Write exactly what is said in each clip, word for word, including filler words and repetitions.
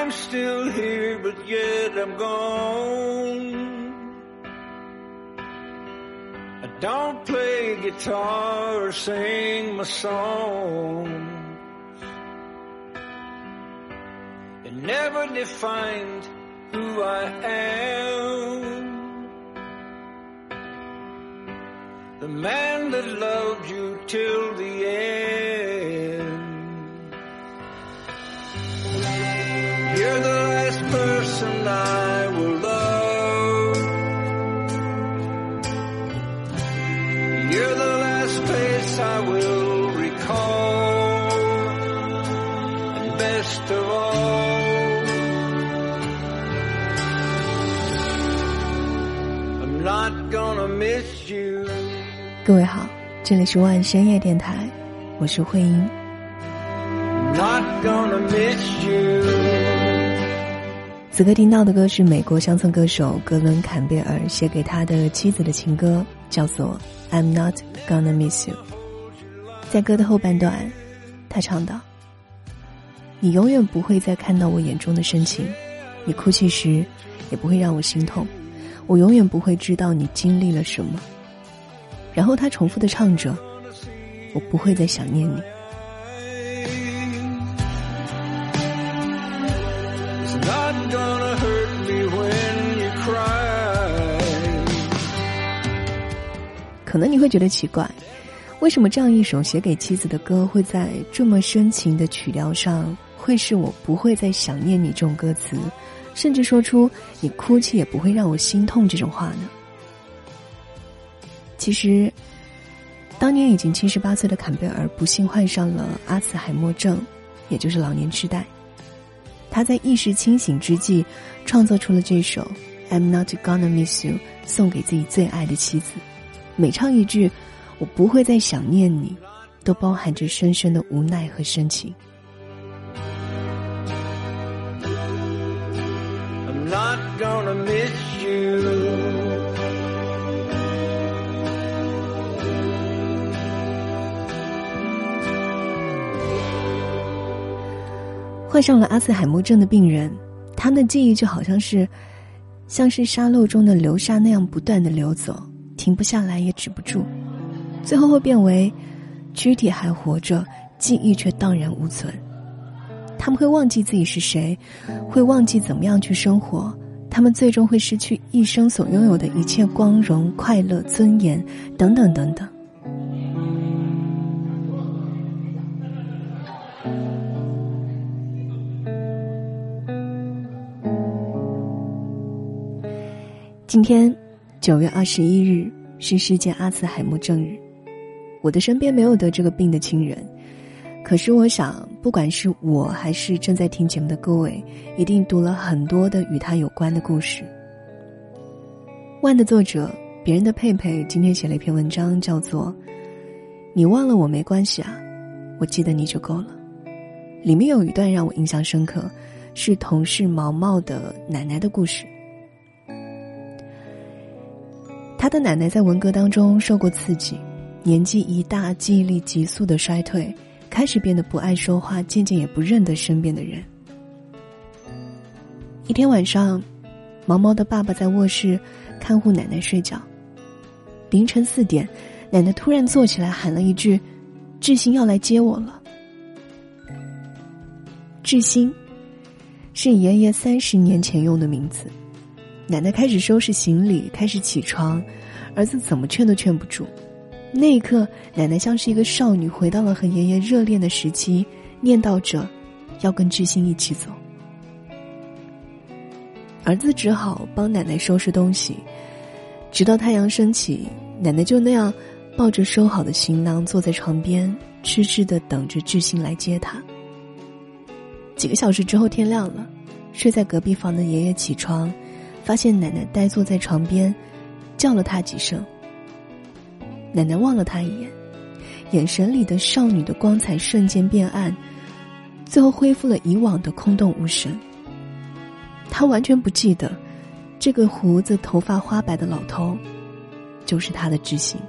I'm still here, but yet I'm gone. I don't play guitar or sing my songs. It never defined who I am. The man that loved you till the end. You're the last person I will love. You're the last face I will recall. And best of all, I'm not gonna miss you. 各位好，这里是万深夜电台，我是慧英。 Not gonna miss you. 此刻听到的歌是美国乡村歌手格伦·坎贝尔写给他的妻子的情歌，叫做 I'm Not Gonna Miss You。 在歌的后半段，他唱道：你永远不会再看到我眼中的深情，你哭泣时也不会让我心痛，我永远不会知道你经历了什么。然后他重复地唱着，我不会再想念你。可能你会觉得奇怪，为什么这样一首写给妻子的歌会在这么深情的曲调上会是我不会再想念你这种歌词，甚至说出你哭泣也不会让我心痛这种话呢？其实当年已经七十八岁的坎贝尔不幸患上了阿兹海默症，也就是老年痴呆。他在意识清醒之际创作出了这首 I'm Not Gonna Miss You， 送给自己最爱的妻子。每唱一句我不会再想念你，都包含着深深的无奈和深情。 I'm not gonna miss you。 患上了阿兹海默症的病人，他们的记忆就好像是像是沙漏中的流沙那样不断地流走，停不下来也止不住，最后会变为躯体还活着，记忆却荡然无存。他们会忘记自己是谁，会忘记怎么样去生活，他们最终会失去一生所拥有的一切光荣、快乐、尊严等等等等。今天九月二十一日是世界阿兹海默症日。我的身边没有得这个病的亲人，可是我想不管是我还是正在听节目的各位，一定读了很多的与他有关的故事。万的作者别人的佩佩今天写了一篇文章，叫做你忘了我没关系啊，我记得你就够了。里面有一段让我印象深刻，是同事毛毛的奶奶的故事。他的奶奶在文革当中受过刺激，年纪一大，记忆力急速的衰退，开始变得不爱说话，渐渐也不认得身边的人。一天晚上，毛毛的爸爸在卧室看护奶奶睡觉。凌晨四点，奶奶突然坐起来喊了一句：志兴要来接我了。志兴是爷爷三十年前用的名字。奶奶开始收拾行李，开始起床，儿子怎么劝都劝不住。那一刻，奶奶像是一个少女回到了和爷爷热恋的时期，念叨着要跟志兴一起走。儿子只好帮奶奶收拾东西，直到太阳升起，奶奶就那样抱着收好的行囊坐在床边，痴痴地等着志兴来接她。几个小时之后天亮了，睡在隔壁房的爷爷起床，发现奶奶呆坐在床边，叫了他几声。奶奶望了他一眼，眼神里的少女的光彩瞬间变暗，最后恢复了以往的空洞无神。他完全不记得这个胡子头发花白的老头就是他的知心。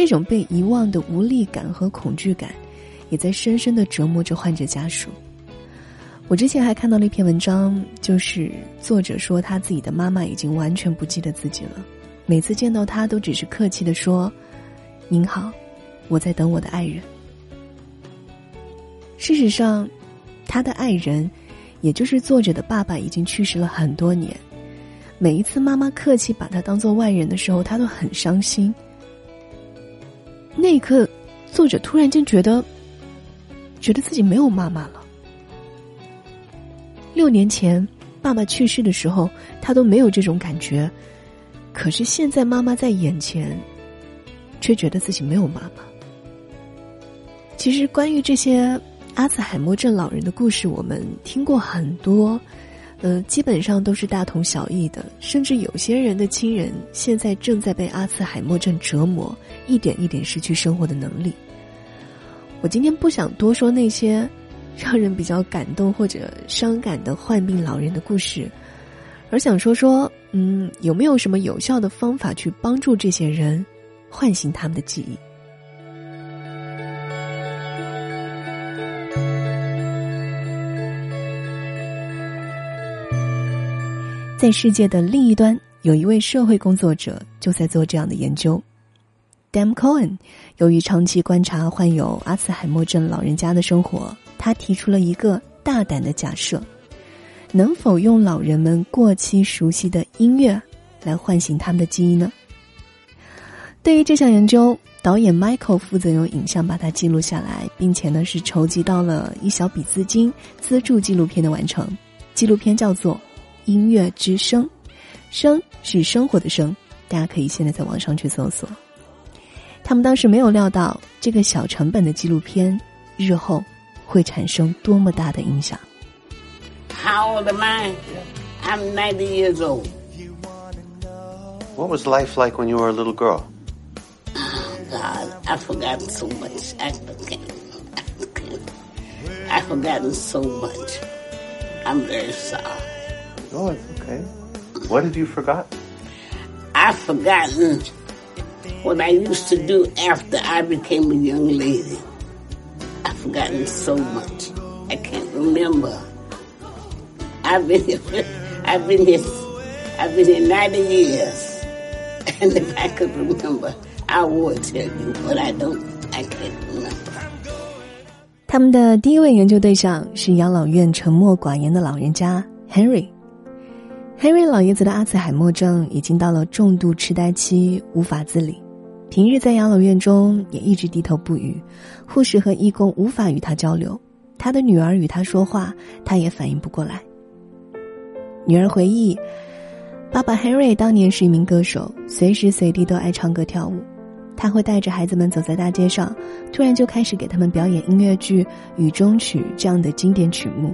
这种被遗忘的无力感和恐惧感，也在深深地折磨着患者家属。我之前还看到了一篇文章，就是作者说他自己的妈妈已经完全不记得自己了，每次见到他都只是客气地说：“您好，我在等我的爱人。”事实上，他的爱人，也就是作者的爸爸，已经去世了很多年。每一次妈妈客气把他当作外人的时候，他都很伤心。那一刻，作者突然间觉得，觉得自己没有妈妈了。六年前爸爸去世的时候，他都没有这种感觉，可是现在妈妈在眼前，却觉得自己没有妈妈。其实关于这些阿兹海默症老人的故事，我们听过很多，呃，基本上都是大同小异的，甚至有些人的亲人现在正在被阿兹海默症折磨，一点一点失去生活的能力。我今天不想多说那些让人比较感动或者伤感的患病老人的故事，而想说说，嗯，有没有什么有效的方法去帮助这些人唤醒他们的记忆？在世界的另一端，有一位社会工作者就在做这样的研究。Dan Cohen 由于长期观察患有阿兹海默症老人家的生活，他提出了一个大胆的假设：能否用老人们过期熟悉的音乐来唤醒他们的记忆呢？对于这项研究，导演 Michael 负责用影像把它记录下来，并且呢是筹集到了一小笔资金资助纪录片的完成。纪录片叫做《音乐之声》，声是生活的声，大家可以现在在网上去搜索。他们当时没有料到，这个小成本的纪录片日后会产生多么大的影响。 How old am I? I'm ninety years old. What was life like when you were a little girl? Oh, God, I've forgotten so much. I can't. I can't. I've forgotten so much. I'm very sorry. Oh, it's okay. What have you forgotten? I've forgotten what I used to do after I became a young lady. I've forgotten so much. I can't remember. I've been here, I've been here, I've been here ninety years. And if I could remember, I would tell you, but I don't, I can't remember. 他们的第一位研究对象是养老院沉默寡言的老人家 Henry。Henry 老爷子的阿兹海默症已经到了重度痴呆期，无法自理。平日在养老院中也一直低头不语，护士和义工无法与他交流，他的女儿与他说话，他也反应不过来。女儿回忆，爸爸 Henry 当年是一名歌手，随时随地都爱唱歌跳舞。他会带着孩子们走在大街上，突然就开始给他们表演音乐剧《雨中曲》这样的经典曲目。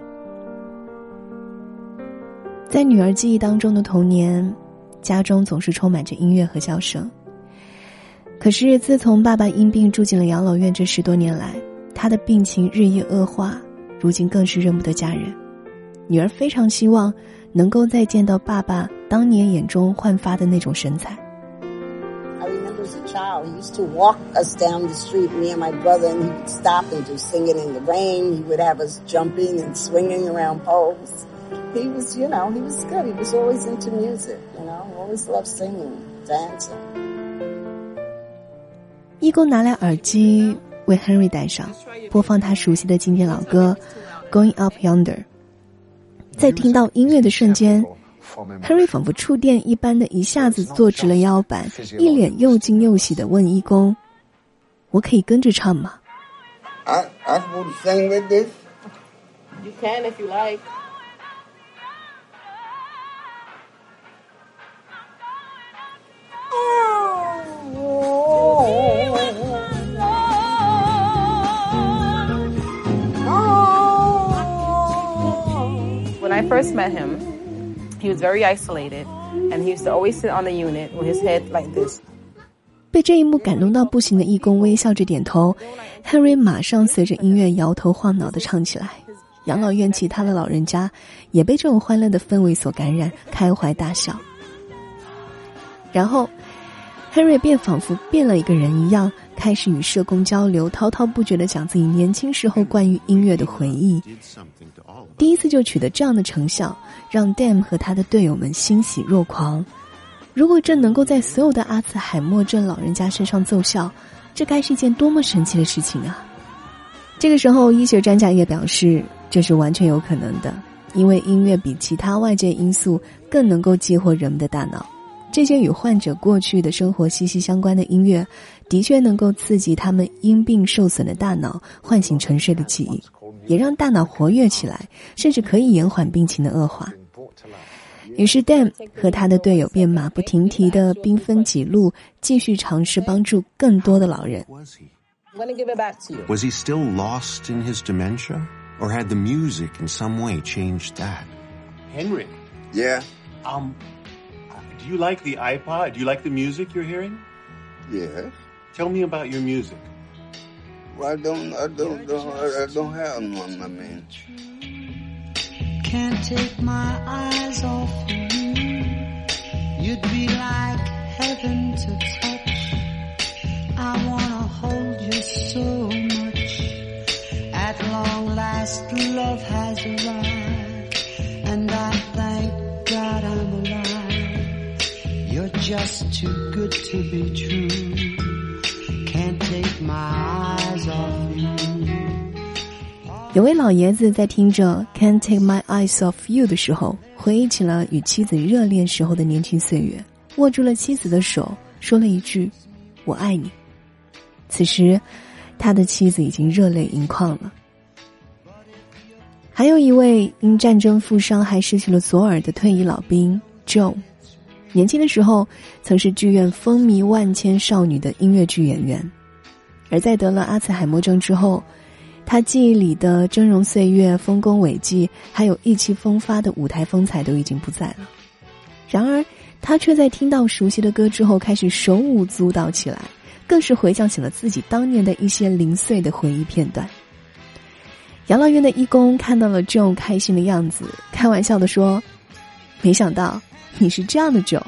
在女儿记忆当中的童年，家中总是充满着音乐和笑声。可是自从爸爸因病住进了养老院这十多年来，他的病情日益恶化，如今更是认不得家人。女儿非常希望能够再见到爸爸当年眼中焕发的那种神采。 I remember as a child, he used to walk us down the street, me and my brother, and he would stop and do singing in the rain. He would have us jumping and swinging around poles. He was, you know, he was good. He was always into music, you know, always loved singing, dancing. 义工拿来耳机为 Henry 戴上，播放他熟悉的经典老歌 Going Up Yonder。 在听到音乐的瞬间， Henry 仿佛触电一般的一下子坐直了腰板，一脸又惊又喜地问义工，我可以跟着唱吗？ I, I would sing with this. You can if you like. When I first met him, he was very isolated, and he used to always sit on the unit with his head like this. 被这一幕感动到不行的义工微笑着点头， Henry 马上随着音乐摇头晃脑地唱起来。养老院其他的老人家也被这种欢乐的氛围所感染，开怀大笑。然后 Henry 便仿佛变了一个人一样，开始与社工交流，滔滔不绝地讲自己年轻时候关于音乐的回忆。第一次就取得这样的成效，让 Dan 和他的队友们欣喜若狂。如果这能够在所有的阿兹海默症老人家身上奏效，这该是一件多么神奇的事情啊！这个时候，医学专家也表示，这是完全有可能的，因为音乐比其他外界因素更能够激活人们的大脑。这些与患者过去的生活息息相关的音乐，的确能够刺激他们因病受损的大脑，唤醒沉睡的记忆，也让大脑活跃起来，甚至可以延缓病情的恶化。于是 Dan 和他的队友便马不停蹄地兵分几路，继续尝试帮助更多的老人。 I'm going to give it back to you. Was he still lost in his dementia? Or had the music in some way changed that? Henry. Yeah. Um, do you like the iPod? Do you like the music you're hearing? Yes. Tell me about your music. Well, I don't, I don't, don't I don't have one, I mean. Can't take my eyes off you. You'd be like heaven to touch. I wanna hold you so much. At long last, love has arrived, and I thank God I'm alive. You're just too good to be true. Can't take my eyes off you. 有位老爷子在听着 Can't Take My Eyes Off You 的时候，回忆起了与妻子热恋时候的年轻岁月，握住了妻子的手，说了一句我爱你。此时他的妻子已经热泪盈眶了。还有一位因战争负伤还失去了左耳的退役老兵 Joe， 年轻的时候曾是剧院风靡万千少女的音乐剧演员，而在得了阿兹海默症之后，他记忆里的峥嵘岁月、丰功伟绩还有意气风发的舞台风采都已经不在了。然而他却在听到熟悉的歌之后开始手舞足蹈起来，更是回想起了自己当年的一些零碎的回忆片段。养老院的义工看到了 Joe 开心的样子，开玩笑地说，没想到你是这样的 Joe。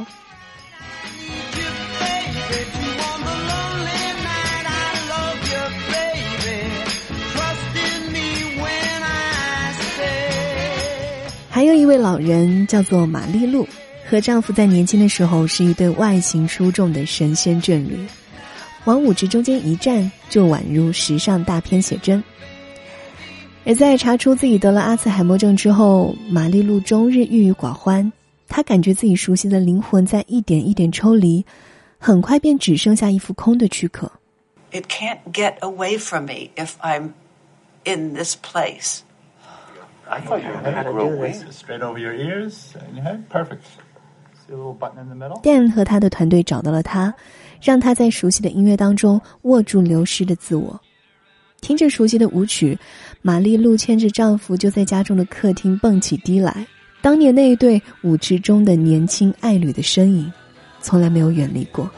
还有一位老人叫做玛丽露，和丈夫在年轻的时候是一对外形出众的神仙眷侣，往舞池中间一站就宛如时尚大片写真。而在查出自己得了阿兹海默症之后，玛丽露终日郁郁寡欢，她感觉自己熟悉的灵魂在一点一点抽离，很快便只剩下一副空的躯壳。 It can't get away from me if I'm in this place.I thought you had to grow wings straight over your ears and your head. Perfect. See a little button in the middle? Dan 和他的团队找到了他，让他在熟悉的音乐当中握住流失的自我。听着熟悉的舞曲，玛丽露牵着丈夫就在家中的客厅蹦起迪来。当年那一对舞池中的年轻爱侣的身影，从来没有远离过。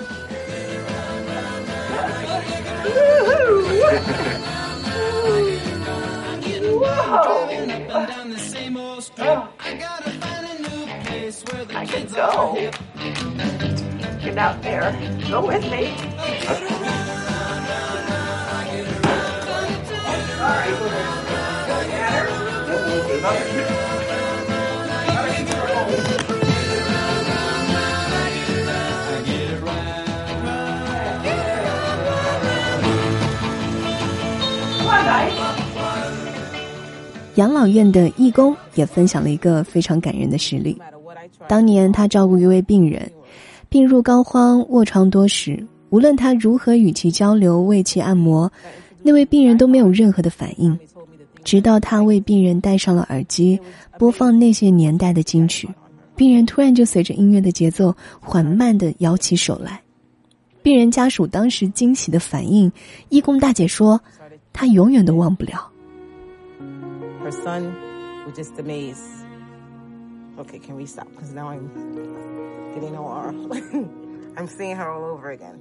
I can go. Get out there. Go with me. All right. Go get her. Come on, guys. 养老院的义工也分享了一个非常感人的实例。当年他照顾一位病人，病入膏肓，卧床多时，无论他如何与其交流，为其按摩，那位病人都没有任何的反应。直到他为病人戴上了耳机，播放那些年代的金曲，病人突然就随着音乐的节奏缓慢地摇起手来。病人家属当时惊喜的反应，义工大姐说，她永远都忘不了。 Her son was just amazed. Okay, can we stop? Because now I'm getting O R. I'm seeing her all over again.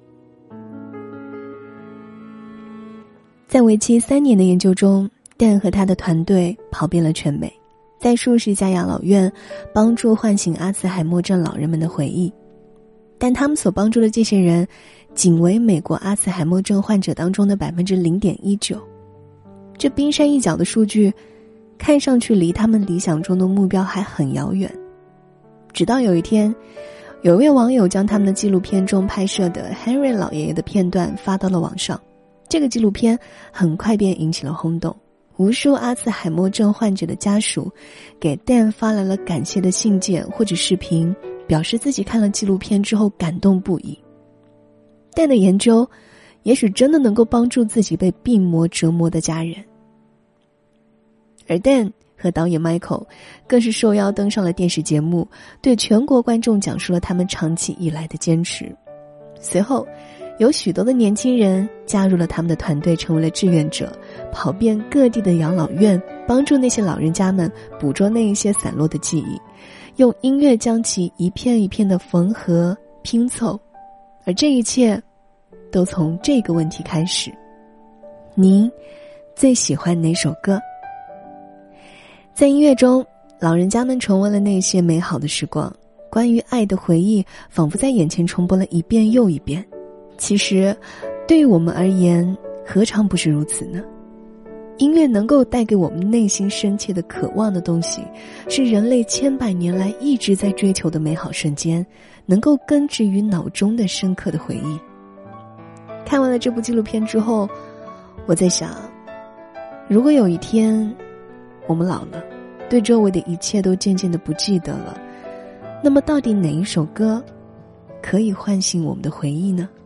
在为期三年的研究中， Dan 和他的团队跑遍了全美，在数十家养老院帮助唤醒阿兹海默症老人们的回忆。 但他们所帮助的这些人仅为美国阿兹海默症患者当中的 百分之零点一九。 这冰山一角的数据看上去离他们理想中的目标还很遥远。直到有一天，有一位网友将他们的纪录片中拍摄的 Henry 老爷爷的片段发到了网上，这个纪录片很快便引起了轰动，无数阿兹海默症患者的家属给 Dan 发来了感谢的信件或者视频，表示自己看了纪录片之后感动不已。 Dan 的研究也许真的能够帮助自己被病魔折磨的家人。而 Dan 和导演 Michael 更是受邀登上了电视节目，对全国观众讲述了他们长期以来的坚持。随后有许多的年轻人加入了他们的团队，成为了志愿者，跑遍各地的养老院，帮助那些老人家们捕捉那一些散落的记忆，用音乐将其一片一片的缝合拼凑。而这一切都从这个问题开始：您最喜欢哪首歌？在音乐中，老人家们重温了那些美好的时光，关于爱的回忆仿佛在眼前重播了一遍又一遍。其实对于我们而言，何尝不是如此呢？音乐能够带给我们内心深切的渴望的东西，是人类千百年来一直在追求的美好瞬间，能够根植于脑中的深刻的回忆。看完了这部纪录片之后，我在想，如果有一天我们老了，对周围的一切都渐渐的不记得了，那么到底哪一首歌可以唤醒我们的回忆呢？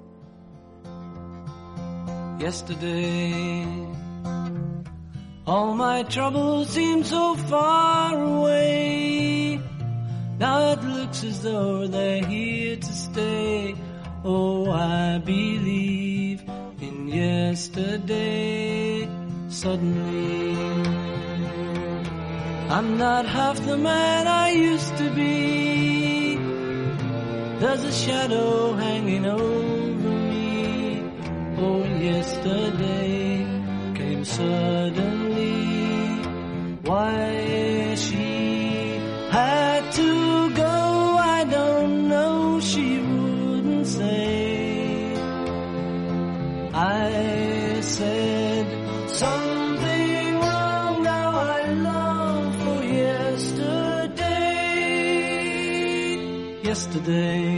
Yesterday, all my troubles seem so far away. Now it looks as though they're here to stay. Oh, I believe in yesterday. Suddenly, I'm not half the man I used to be. There's a shadow hanging over me. Oh, yesterday came suddenly. Why she had to go, I don't know. She wouldn't say. I said something wrong. Now I long for yesterday. Yesterday,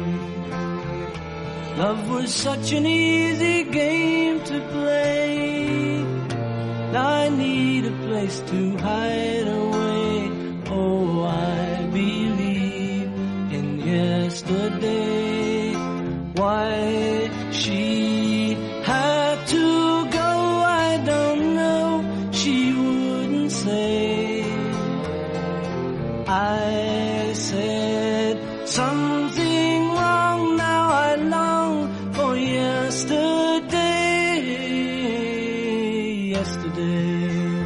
love was such an easy game to play. Now I need a place to hide away. Oh, I believe in yesterday. Why she had to go, I don't know. She wouldn't say. I said something wrong. Now I long for yesterday. Yesterday,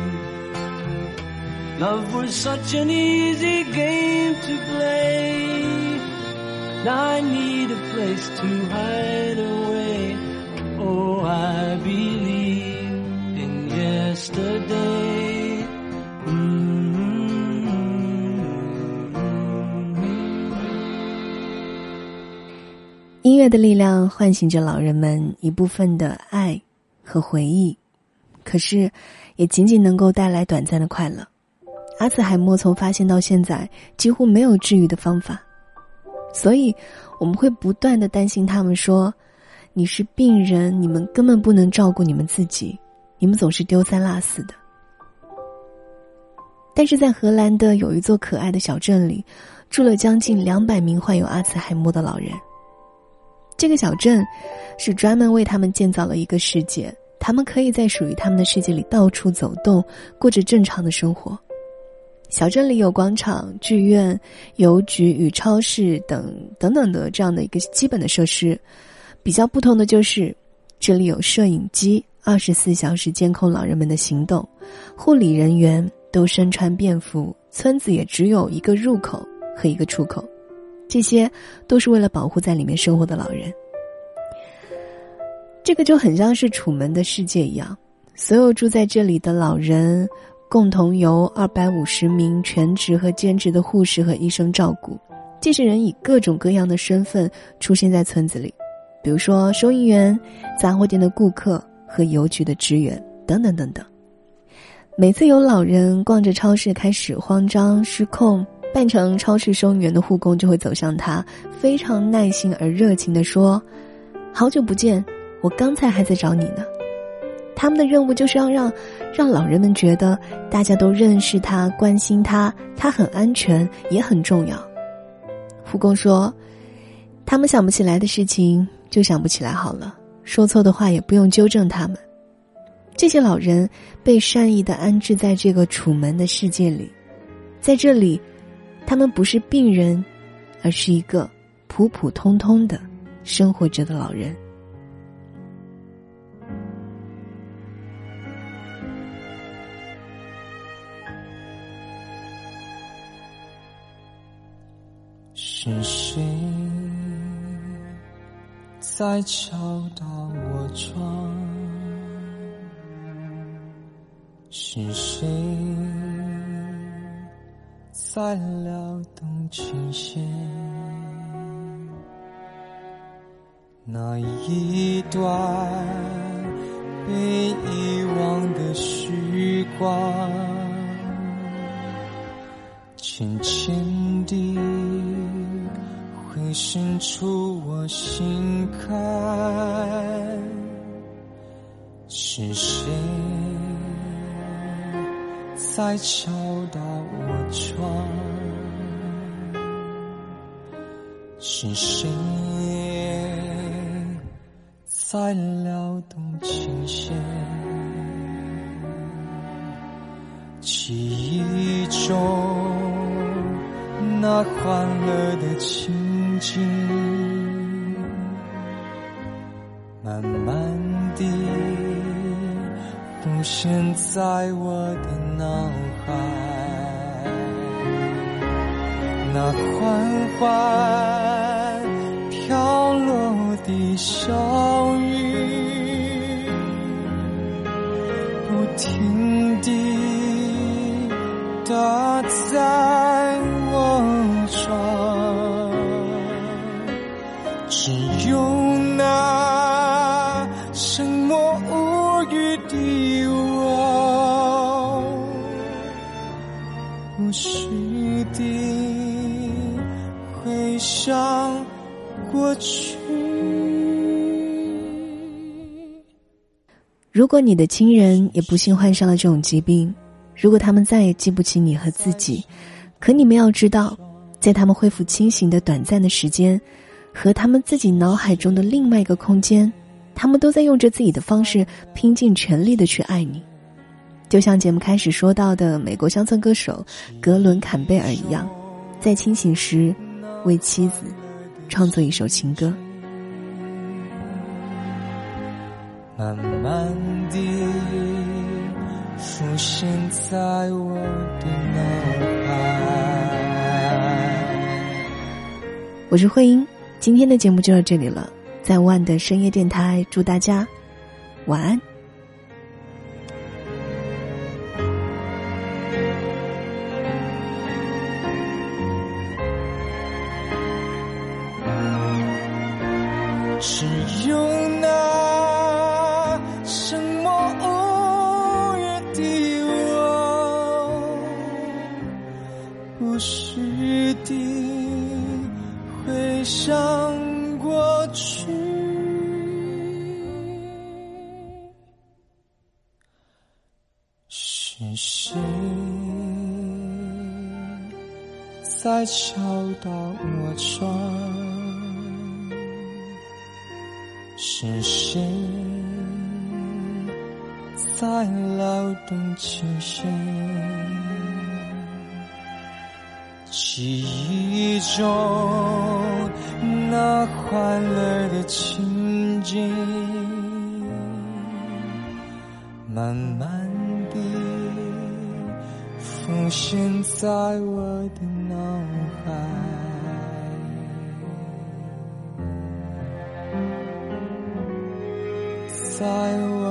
love was such an easy game to play. Now I need a place to hide away. Oh, I believe in yesterday. Mm-hmm. 音乐的力量唤醒着老人们一部分的爱和回忆，可是也仅仅能够带来短暂的快乐。阿兹海默从发现到现在几乎没有治愈的方法，所以我们会不断地担心他们，说你是病人，你们根本不能照顾你们自己，你们总是丢三落四的。但是在荷兰的有一座可爱的小镇里，住了将近两百名患有阿兹海默的老人。这个小镇是专门为他们建造了一个世界，他们可以在属于他们的世界里到处走动，过着正常的生活。小镇里有广场、剧院、邮局与超市等等等的这样的一个基本的设施。比较不同的就是这里有摄影机，二十四小时监控老人们的行动，护理人员都身穿便服，村子也只有一个入口和一个出口，这些都是为了保护在里面生活的老人。这个就很像是楚门的世界一样，所有住在这里的老人共同由二百五十名全职和兼职的护士和医生照顾， 这些人以各种各样的身份出现在村子里，比如说收银员、杂货店的顾客和邮局的职员等等等等。每次有老人逛着超市开始慌张失控，扮成超市收银员的护工就会走向他，非常耐心而热情地说：好久不见，我刚才还在找你呢。他们的任务就是要让让老人们觉得大家都认识他，关心他，他很安全也很重要。护工说，他们想不起来的事情就想不起来好了，说错的话也不用纠正他们。这些老人被善意地安置在这个楚门的世界里，在这里他们不是病人，而是一个普普通通的生活着的老人。 是谁在敲打我窗？是谁在撩动琴弦？那一段被遗忘的时光，浅浅地会渗出我心坎。是谁在敲打我窗？是谁在撩动琴弦？记忆中那欢乐的情景，慢慢地浮现在我的脑海。那缓缓飘落的小雨，不停地打在我窗，只有那沉默无语的我，不时地回想过去。 如果你的亲人也不幸患上了这种疾病，如果他们再也记不起你和自己，可你们要知道，在他们恢复清醒的短暂的时间和他们自己脑海中的另外一个空间，他们都在用着自己的方式拼尽全力的去爱你。就像节目开始说到的美国乡村歌手格伦·坎贝尔一样，在清醒时为妻子创作一首情歌。 慢慢地浮现在我的脑海。 我是慧英，今天的节目就到这里了，在万的深夜电台祝大家晚安。 只有那沉默无语的我，不时地回想过去。是谁在敲打我窗？是谁在撩动琴弦？记忆中那欢乐的情景，慢慢地浮现在我的脑海。在我